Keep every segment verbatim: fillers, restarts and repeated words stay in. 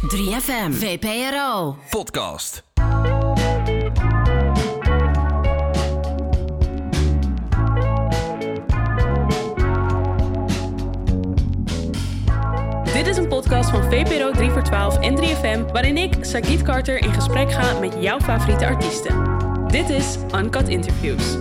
drie F M, V P R O, podcast. Dit is een podcast van V P R O drie voor twaalf en drie F M... waarin ik, Sagit Carter, in gesprek ga met jouw favoriete artiesten. Dit is Uncut Interviews.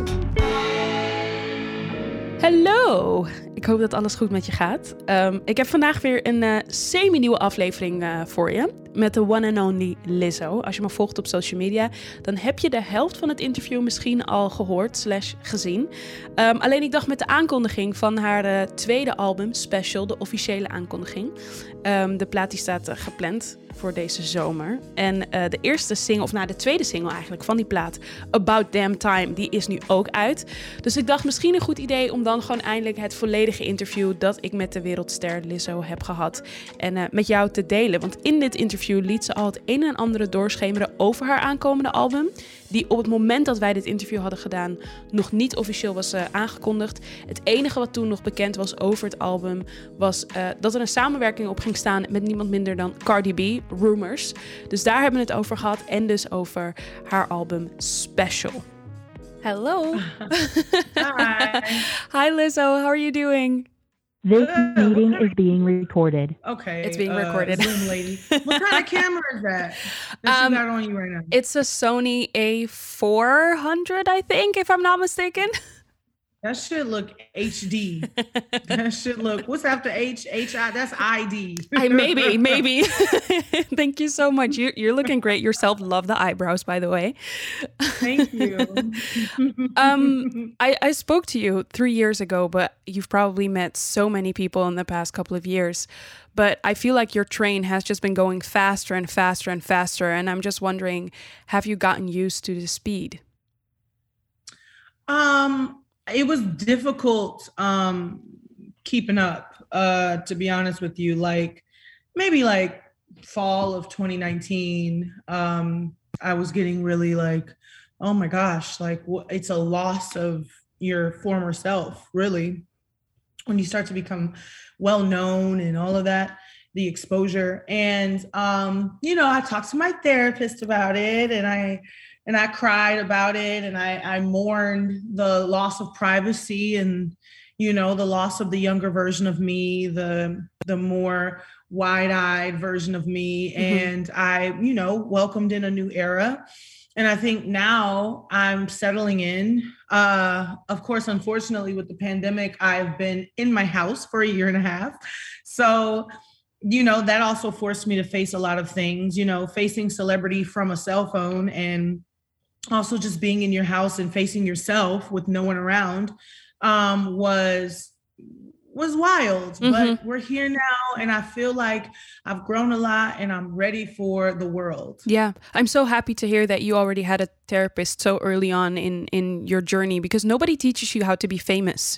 Hallo! Ik hoop dat alles goed met je gaat. Um, ik heb vandaag weer een uh, semi-nieuwe aflevering uh, voor je. Met de one and only Lizzo. Als je me volgt op social media, dan heb je de helft van het interview misschien al gehoord slash gezien. Um, alleen ik dacht met de aankondiging van haar uh, tweede album, Special, de officiële aankondiging. Um, de plaat die staat uh, gepland voor deze zomer. En uh, de eerste single, of nou de tweede single eigenlijk van die plaat, About Damn Time, die is nu ook uit. Dus ik dacht misschien een goed idee om dan gewoon eindelijk het volledige interview dat ik met de wereldster Lizzo heb gehad en uh, met jou te delen. Want in dit interview liet ze al het een en ander doorschemeren over haar aankomende album, die op het moment dat wij dit interview hadden gedaan nog niet officieel was uh, aangekondigd. Het enige wat toen nog bekend was over het album was uh, dat er een samenwerking op ging staan met niemand minder dan Cardi B, Rumors. Dus daar hebben we het over gehad en dus over haar album Special. Hello. Hi. Hi Lizzo, how are you doing? This meeting is being recorded. Okay. It's being uh, recorded. Zoom lady. What kind of camera is that? That Um, you got on you right now? It's a Sony A four hundred, I think, if I'm not mistaken. That should look H D. That should look. What's after H? H I. That's I D. I, maybe, maybe. Thank you so much. You, you're looking great yourself. Love the eyebrows, by the way. Thank you. um, I, I spoke to you three years ago, but you've probably met so many people in the past couple of years. But I feel like your train has just been going faster and faster and faster. And I'm just wondering, have you gotten used to the speed? Um. It was difficult um, keeping up, uh, to be honest with you. Like maybe like fall of twenty nineteen, um, I was getting really like, oh my gosh, like wh- it's a loss of your former self, really. When you start to become well known and all of that, the exposure. And, um, you know, I talked to my therapist about it and I And I cried about it and I, I mourned the loss of privacy and, you know, the loss of the younger version of me, the the more wide-eyed version of me. Mm-hmm. And I, you know, welcomed in a new era. And I think now I'm settling in. Uh, of course, unfortunately, with the pandemic, I've been in my house for a year and a half. So, you know, that also forced me to face a lot of things, you know, facing celebrity from a cell phone and also just being in your house and facing yourself with no one around um, was was wild. Mm-hmm. But we're here now and I feel like I've grown a lot and I'm ready for the world. Yeah, I'm so happy to hear that you already had a therapist so early on in, in your journey, because nobody teaches you how to be famous.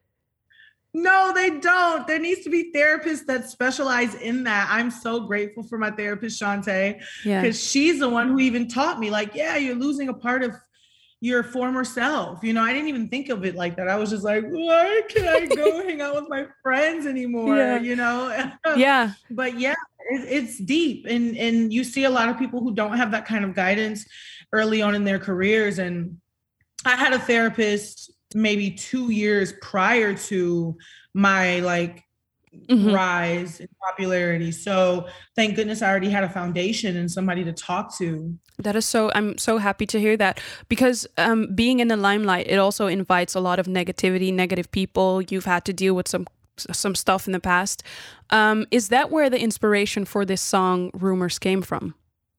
No, they don't. There needs to be therapists that specialize in that. I'm so grateful for my therapist, Shantae, because yeah. she's the one who even taught me, like, yeah, you're losing a part of your former self. You know, I didn't even think of it like that. I was just like, why can't I go hang out with my friends anymore? Yeah. You know? Yeah. But yeah, it, it's deep. And, and you see a lot of people who don't have that kind of guidance early on in their careers. And I had a therapist maybe two years prior to my like mm-hmm. rise in popularity. So thank goodness I already had a foundation and somebody to talk to. That is so, I'm so happy to hear that, because um, being in the limelight, it also invites a lot of negativity, negative people. You've had to deal with some some stuff in the past. Um, is that where the inspiration for this song Rumors came from?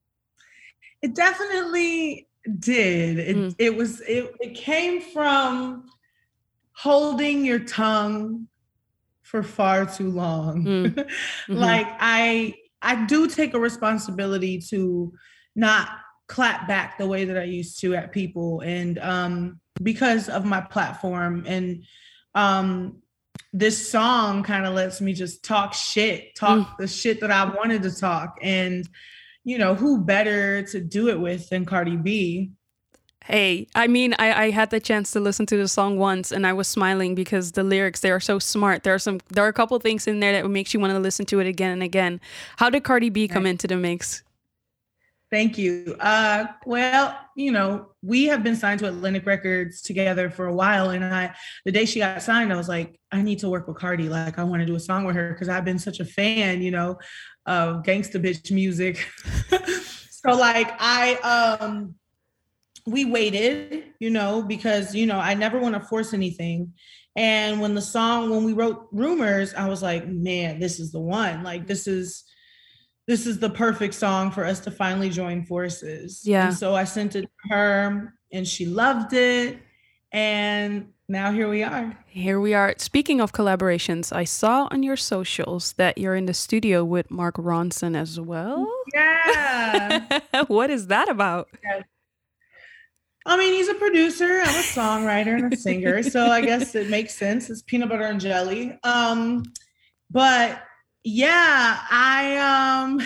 It definitely did. It, mm. it was, it, it came from holding your tongue for far too long. Mm. Mm-hmm. Like I, I do take a responsibility to not clap back the way that I used to at people. And um, because of my platform and um, this song kind of lets me just talk shit, talk mm. the shit that I wanted to talk. And, you know, who better to do it with than Cardi B? Hey, I mean, I, I had the chance to listen to the song once and I was smiling because the lyrics, they are so smart. There are some, there are a couple of things in there that makes you want to listen to it again and again. How did Cardi B come into the mix? Thank you. Uh, well, you know, we have been signed to Atlantic Records together for a while. And I, the day she got signed, I was like, I need to work with Cardi. Like, I want to do a song with her because I've been such a fan, you know, of gangsta bitch music. So like I, um, we waited, you know, because, you know, I never want to force anything. And when the song, when we wrote Rumors, I was like, man, this is the one. Like, this is, this is the perfect song for us to finally join forces. Yeah. And so I sent it to her and she loved it. And now here we are. Here we are. Speaking of collaborations, I saw on your socials that you're in the studio with Mark Ronson as well. Yeah. What is that about? Yeah. I mean, he's a producer, I'm a songwriter and a singer. So I guess it makes sense. It's peanut butter and jelly. Um, but yeah, I um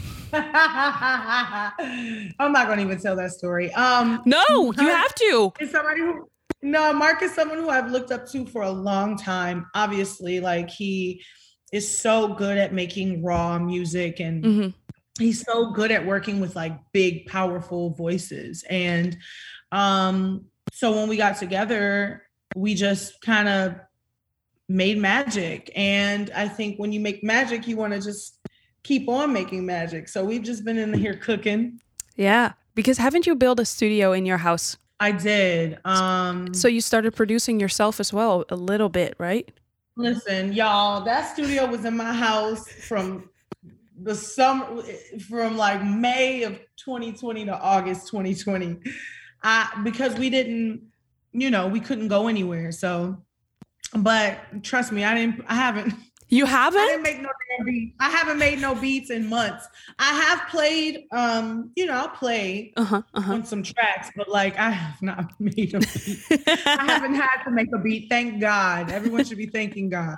I'm not gonna even tell that story. Um No, you have to. It's somebody who no, Mark is someone who I've looked up to for a long time. Obviously, like he is so good at making raw music and mm-hmm. he's so good at working with like big, powerful voices. And um, so when we got together, we just kind of made magic. And I think when you make magic, you want to just keep on making magic. So we've just been in here cooking. Yeah. Because haven't you built a studio in your house? I did. Um, so you started producing yourself as well a little bit, right? Listen, y'all, that studio was in my house from the summer, from like May of twenty twenty to August twenty twenty. I, because we didn't, you know, we couldn't go anywhere. So, but trust me, I didn't, I haven't. You haven't? I didn't make no damn beats. I haven't made no beats in months. I have played, um, you know, I'll play uh-huh, uh-huh. on some tracks, but like I have not made a beat. I haven't had to make a beat. Thank God. Everyone should be thanking God.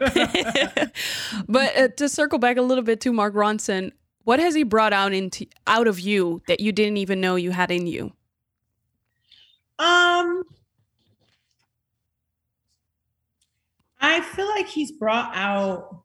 But uh, to circle back a little bit to Mark Ronson, what has he brought out into out of you that you didn't even know you had in you? Um, I feel like he's brought out,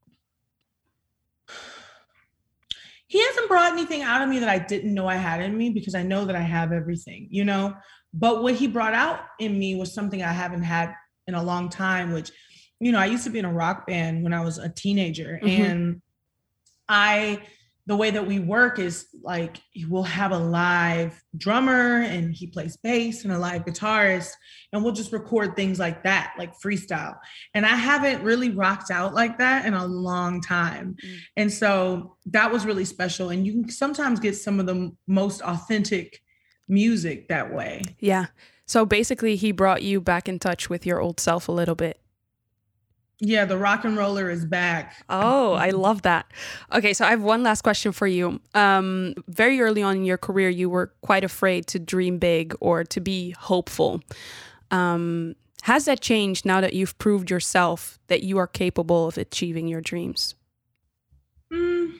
he hasn't brought anything out of me that I didn't know I had in me because I know that I have everything, you know, but what he brought out in me was something I haven't had in a long time, which, you know, I used to be in a rock band when I was a teenager mm-hmm. and I, the way that we work is like, we'll have a live drummer and he plays bass and a live guitarist and we'll just record things like that, like freestyle. And I haven't really rocked out like that in a long time. Mm. And so that was really special. And you can sometimes get some of the most authentic music that way. Yeah. So basically he brought you back in touch with your old self a little bit. Yeah, the rock and roller is back. Oh, I love that. Okay, so I have one last question for you. Um, very early on in your career, you were quite afraid to dream big or to be hopeful. Um, has that changed now that you've proved yourself that you are capable of achieving your dreams? Mm.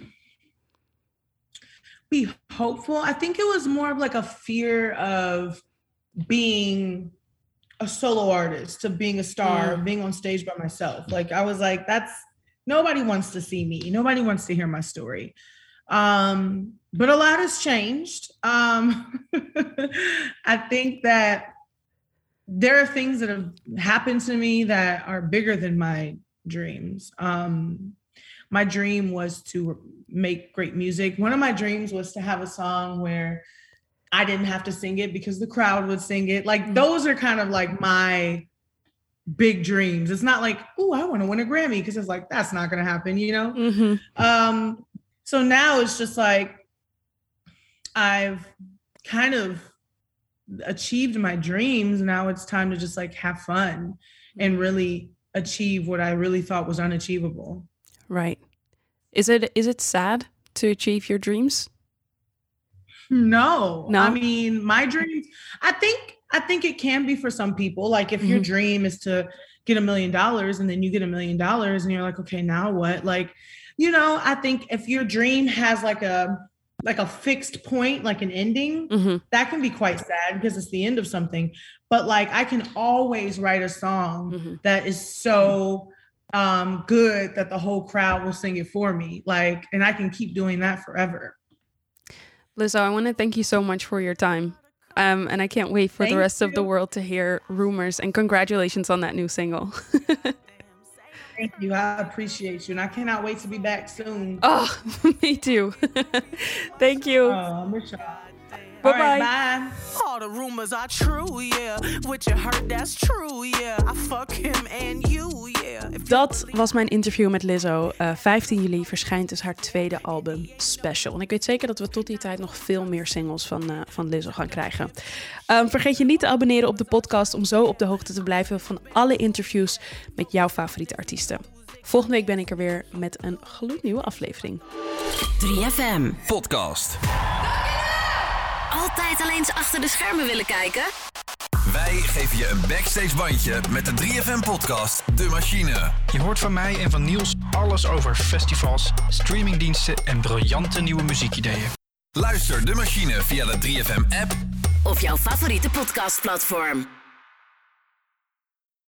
Be hopeful. I think it was more of like a fear of being a solo artist, to being a star, mm. being on stage by myself. Like I was like, that's, nobody wants to see me. Nobody wants to hear my story. Um, but a lot has changed. Um, I think that there are things that have happened to me that are bigger than my dreams. Um, my dream was to make great music. One of my dreams was to have a song where I didn't have to sing it because the crowd would sing it. Like mm-hmm. those are kind of like my big dreams. It's not like, oh, I want to win a Grammy, because it's like, that's not going to happen, you know? Mm-hmm. Um, so now it's just like, I've kind of achieved my dreams. Now it's time to just like have fun and really achieve what I really thought was unachievable. Right. Is it, is it sad to achieve your dreams? No, no. I mean, my dreams, I think, I think it can be for some people. Like if mm-hmm. your dream is to get a million dollars and then you get a million dollars and you're like, okay, now what? Like, you know, I think if your dream has like a, like a fixed point, like an ending, mm-hmm. that can be quite sad because it's the end of something. But like I can always write a song mm-hmm. that is so um, good that the whole crowd will sing it for me. Like, and I can keep doing that forever. Lizzo, I want to thank you so much for your time. Um, and I can't wait for thank the rest you. of the world to hear Rumors. And congratulations on that new single. Thank you. I appreciate you. And I cannot wait to be back soon. Oh, me too. Thank you. Oh, I miss y'all. Bye-bye. Right, bye. All the rumors are true, yeah. What you heard, that's true, yeah. I fuck him and you, yeah. Dat was mijn interview met Lizzo. Uh, vijftien juli verschijnt dus haar tweede album Special. En ik weet zeker dat we tot die tijd nog veel meer singles van, uh, van Lizzo gaan krijgen. Um, vergeet je niet te abonneren op de podcast om zo op de hoogte te blijven van alle interviews met jouw favoriete artiesten. Volgende week ben ik er weer met een gloednieuwe aflevering. drie F M Podcast. Altijd alleen eens achter de schermen willen kijken? Wij geven je een backstage bandje met de drie F M podcast De Machine. Je hoort van mij en van Niels alles over festivals, streamingdiensten en briljante nieuwe muziekideeën. Luister De Machine via de drie F M app of jouw favoriete podcastplatform.